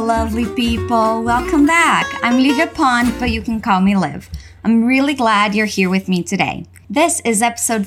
lovely people. Welcome back. I'm Livia Pond, but you can call me Liv. I'm really glad you're here with me today. This is episode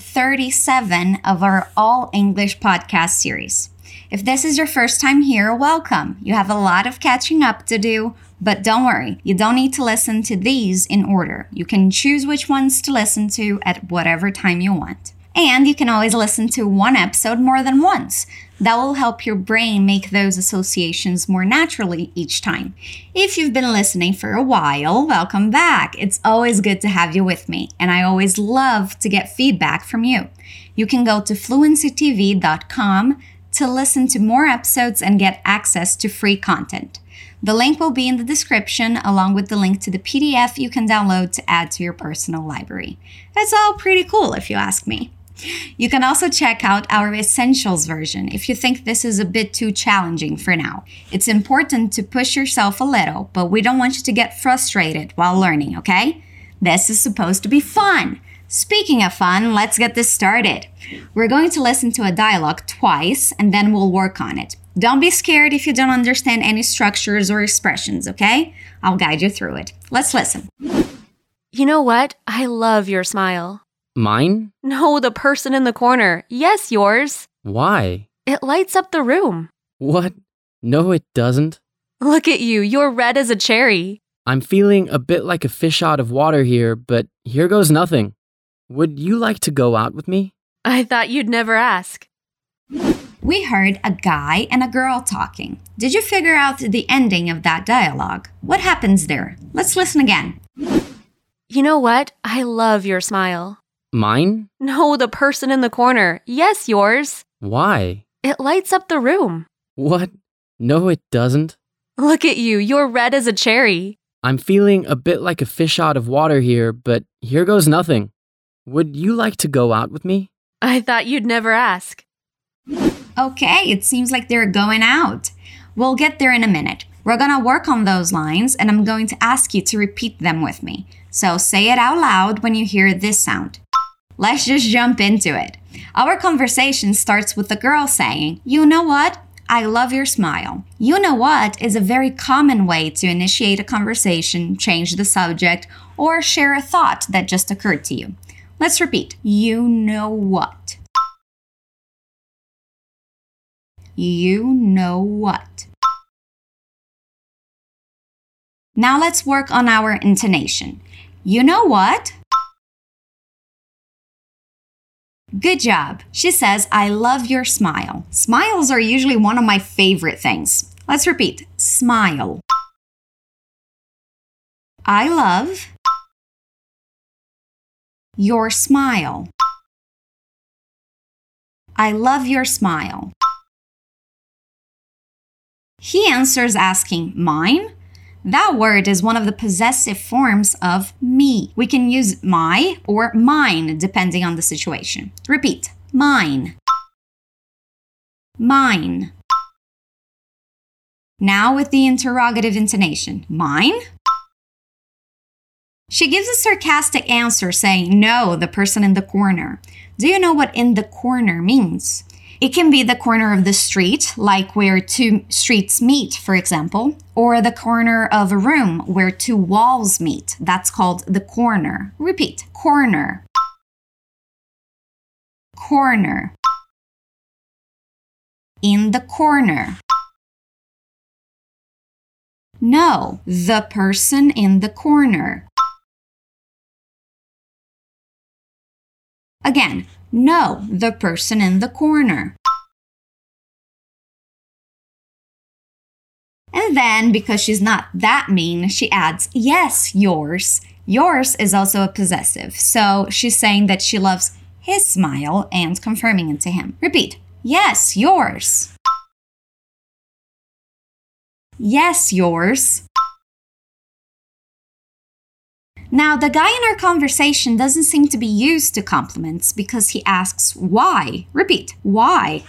37 of our All English podcast series. If this is your first time here, welcome. You have a lot of catching up to do, but don't worry, you don't need to listen to these in order. You can choose which ones to listen to at whatever time you want. And you can always listen to one episode more than once. That will help your brain make those associations more naturally each time. If you've been listening for a while, welcome back. It's always good to have you with me, and I always love to get feedback from you. You can go to fluencytv.com to listen to more episodes and get access to free content. The link will be in the description, along with the link to the PDF you can download to add to your personal library. That's all pretty cool if you ask me. You can also check out our Essentials version if you think this is a bit too challenging for now. It's important to push yourself a little, but we don't want you to get frustrated while learning, okay? This is supposed to be fun. Speaking of fun, let's get this started. We're going to listen to a dialogue twice and then we'll work on it. Don't be scared if you don't understand any structures or expressions, okay? I'll guide you through it. Let's listen. You know what? I love your smile. Mine? No, the person in the corner. Yes, yours. Why? It lights up the room. What? No, it doesn't. Look at you. You're red as a cherry. I'm feeling a bit like a fish out of water here, but here goes nothing. Would you like to go out with me? I thought you'd never ask. We heard a guy and a girl talking. Did you figure out the ending of that dialogue? What happens there? Let's listen again. You know what? I love your smile. Mine? No, the person in the corner. Yes, yours. Why? It lights up the room. What? No, it doesn't. Look at you. You're red as a cherry. I'm feeling a bit like a fish out of water here, but here goes nothing. Would you like to go out with me? I thought you'd never ask. Okay, it seems like they're going out. We'll get there in a minute. We're gonna work on those lines and I'm going to ask you to repeat them with me. So say it out loud when you hear this sound. Let's just jump into it. Our conversation starts with the girl saying, "You know what? I love your smile." You know what is a very common way to initiate a conversation, change the subject, or share a thought that just occurred to you. Let's repeat. You know what? You know what? Now let's work on our intonation. You know what? Good job. She says, "I love your smile." Smiles are usually one of my favorite things. Let's repeat. Smile. I love your smile. I love your smile. He answers asking, "Mine?" That word is one of the possessive forms of me. We can use my or mine depending on the situation. Repeat. Mine. Mine. Now with the interrogative intonation. Mine? She gives a sarcastic answer saying, "No, the person in the corner." Do you know what "in the corner" means? It can be the corner of the street, like where two streets meet, for example, or the corner of a room where two walls meet. That's called the corner. Repeat. Corner. Corner. In the corner. No, the person in the corner. Again, no, the person in the corner. And then, because she's not that mean, she adds, "Yes, yours." Yours is also a possessive, so she's saying that she loves his smile and confirming it to him. Repeat. Yes, yours. Yes, yours. Now, the guy in our conversation doesn't seem to be used to compliments because he asks why. Repeat. Why?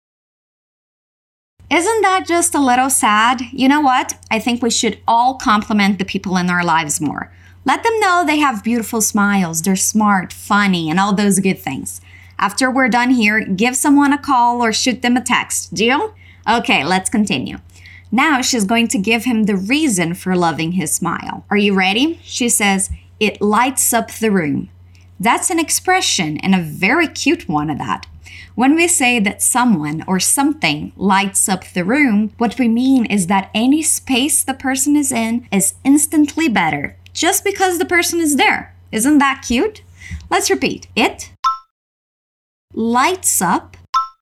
Isn't that just a little sad? You know what? I think we should all compliment the people in our lives more. Let them know they have beautiful smiles, they're smart, funny, and all those good things. After we're done here, give someone a call or shoot them a text. Deal? Okay, let's continue. Now she's going to give him the reason for loving his smile. Are you ready? She says, "It lights up the room." That's an expression, and a very cute one at that. When we say that someone or something lights up the room, what we mean is that any space the person is in is instantly better, just because the person is there. Isn't that cute? Let's repeat. It lights up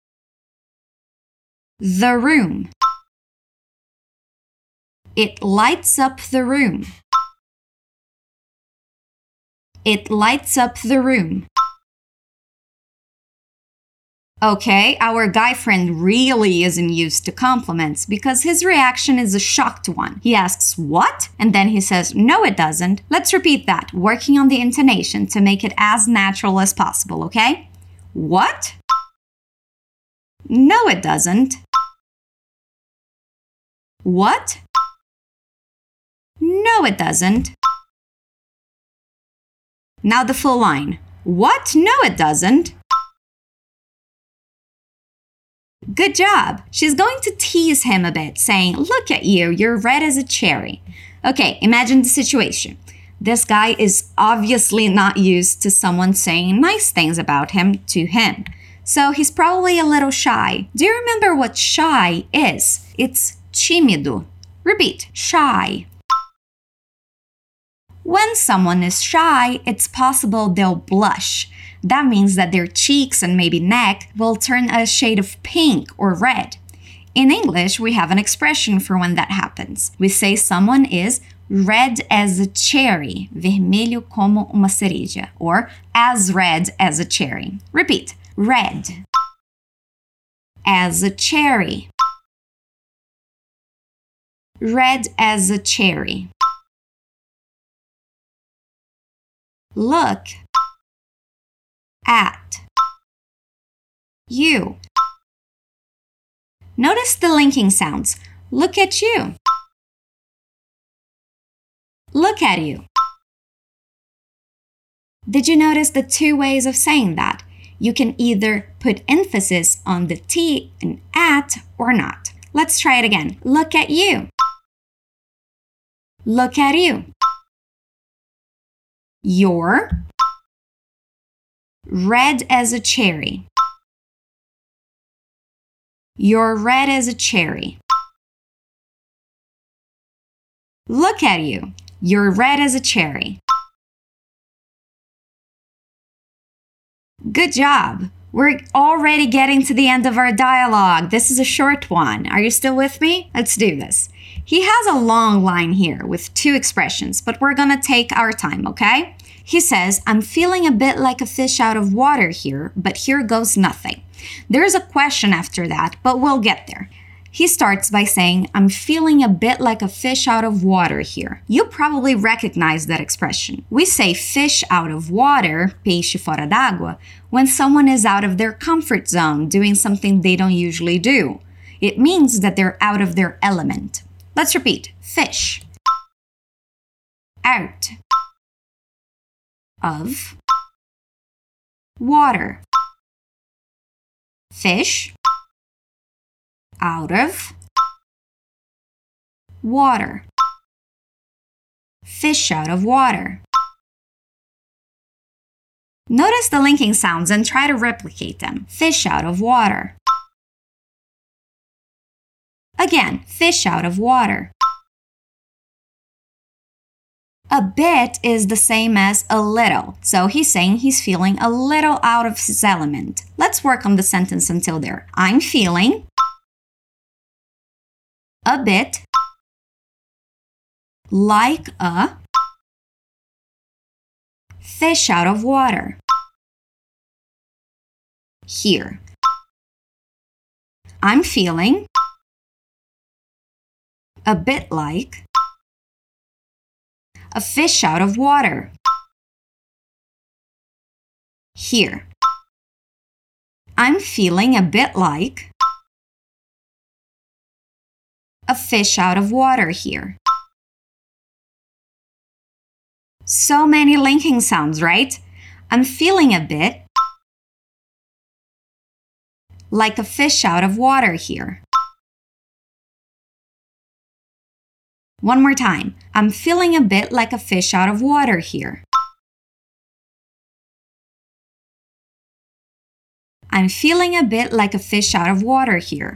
the room. It lights up the room. It lights up the room. Okay, our guy friend really isn't used to compliments because his reaction is a shocked one. He asks, "What?" And then he says, "No, it doesn't." Let's repeat that, working on the intonation to make it as natural as possible, okay? What? No, it doesn't. What? No, it doesn't. Now the full line. What? No, it doesn't. Good job. She's going to tease him a bit, saying, "Look at you, you're red as a cherry." Okay, imagine the situation. This guy is obviously not used to someone saying nice things about him to him. So he's probably a little shy. Do you remember what shy is? It's tímido. Repeat, shy. When someone is shy, it's possible they'll blush. That means that their cheeks and maybe neck will turn a shade of pink or red. In English, we have an expression for when that happens. We say someone is red as a cherry, vermelho como uma cereja, or as red as a cherry. Repeat, red as a cherry. Red as a cherry. Look at you. Notice the linking sounds. Look at you. Look at you. Did you notice the two ways of saying that? You can either put emphasis on the T and at or not. Let's try it again. Look at you. Look at you. You're red as a cherry. You're red as a cherry. Look at you. You're red as a cherry. Good job. We're already getting to the end of our dialogue. This is a short one. Are you still with me? Let's do this. He has a long line here with two expressions, but we're gonna take our time, okay? He says, "I'm feeling a bit like a fish out of water here, but here goes nothing." There's a question after that, but we'll get there. He starts by saying, "I'm feeling a bit like a fish out of water here." You probably recognize that expression. We say fish out of water, peixe fora d'água, when someone is out of their comfort zone, doing something they don't usually do. It means that they're out of their element. Let's repeat. Fish. Out. Of. Water. Fish. Out of. Water. Fish out of water. Notice the linking sounds and try to replicate them. Fish out of water. Again, fish out of water. A bit is the same as a little, so he's saying he's feeling a little out of his element. Let's work on the sentence until there. I'm feeling a bit like a fish out of water. Here. I'm feeling a bit like a fish out of water. Here. I'm feeling a bit like a fish out of water here. So many linking sounds, right? I'm feeling a bit like a fish out of water here. One more time. I'm feeling a bit like a fish out of water here. I'm feeling a bit like a fish out of water here.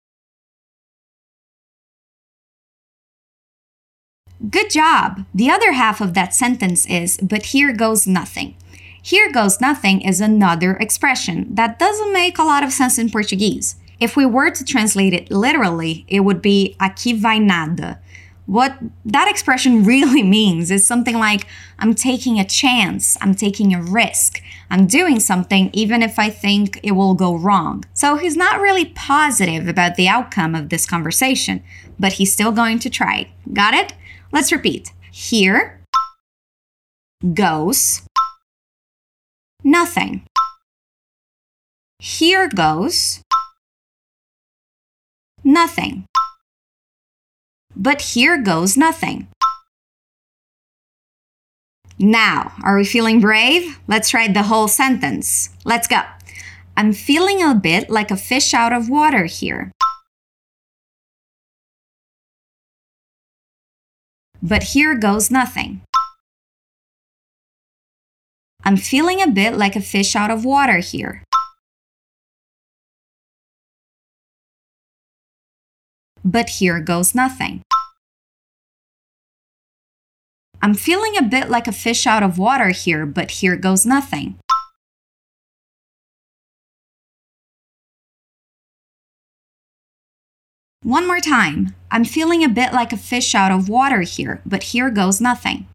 Good job! The other half of that sentence is, but here goes nothing. Here goes nothing is another expression that doesn't make a lot of sense in Portuguese. If we were to translate it literally, it would be aqui vai nada. What that expression really means is something like, I'm taking a chance, I'm taking a risk, I'm doing something even if I think it will go wrong. So he's not really positive about the outcome of this conversation, but he's still going to try. Got it? Let's repeat. Here goes nothing. Here goes nothing. But here goes nothing. Now, are we feeling brave? Let's write the whole sentence. Let's go. I'm feeling a bit like a fish out of water here. But here goes nothing. I'm feeling a bit like a fish out of water here. But here goes nothing. I'm feeling a bit like a fish out of water here, but here goes nothing. One more time. I'm feeling a bit like a fish out of water here, but here goes nothing.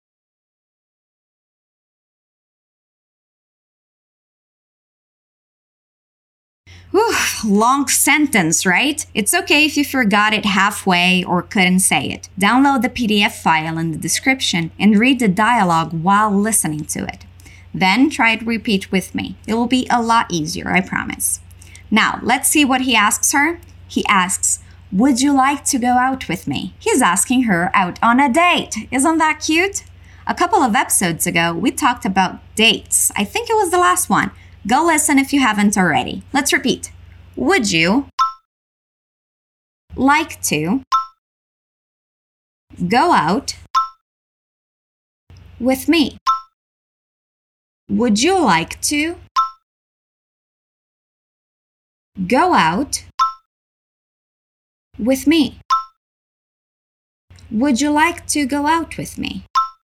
Whew, long sentence, right? It's okay if you forgot it halfway or couldn't say it. Download the PDF file in the description and read the dialogue while listening to it. Then try to repeat with me. It will be a lot easier, I promise. Now, let's see what he asks her. He asks, would you like to go out with me? He's asking her out on a date. Isn't that cute? A couple of episodes ago, we talked about dates. I think it was the last one. Go listen if you haven't already. Let's repeat. Would you like to go out with me? Would you like to go out with me? Would you like to go out with me?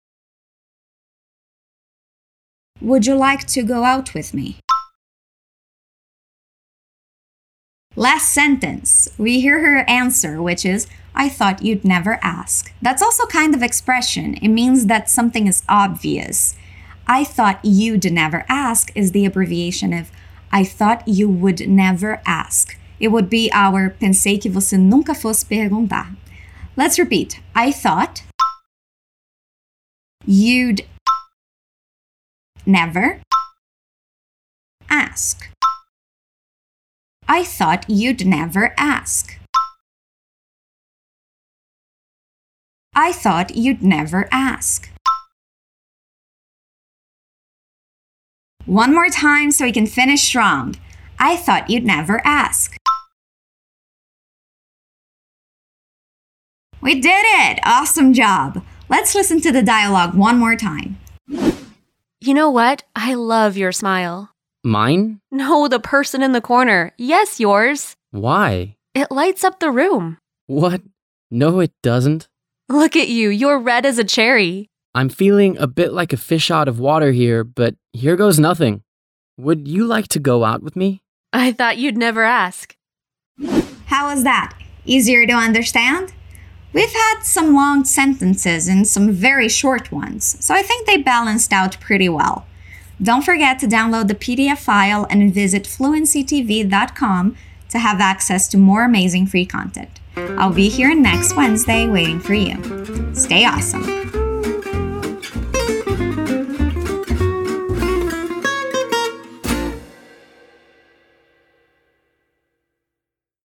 Would you like to go out with me? Last sentence. We hear her answer, which is, I thought you'd never ask. That's also kind of expression. It means that something is obvious. I thought you'd never ask is the abbreviation of I thought you would never ask. It would be our pensei que você nunca fosse perguntar. Let's repeat. I thought you'd never ask. I thought you'd never ask. I thought you'd never ask. One more time so we can finish strong. I thought you'd never ask. We did it! Awesome job! Let's listen to the dialogue one more time. You know what? I love your smile. Mine? No, the person in the corner. Yes, yours. Why? It lights up the room. What? No, it doesn't. Look at you. You're red as a cherry. I'm feeling a bit like a fish out of water here, but here goes nothing. Would you like to go out with me? I thought you'd never ask. How was that? Easier to understand? We've had some long sentences and some very short ones, so I think they balanced out pretty well. Don't forget to download the PDF file and visit fluencytv.com to have access to more amazing free content. I'll be here next Wednesday waiting for you. Stay awesome.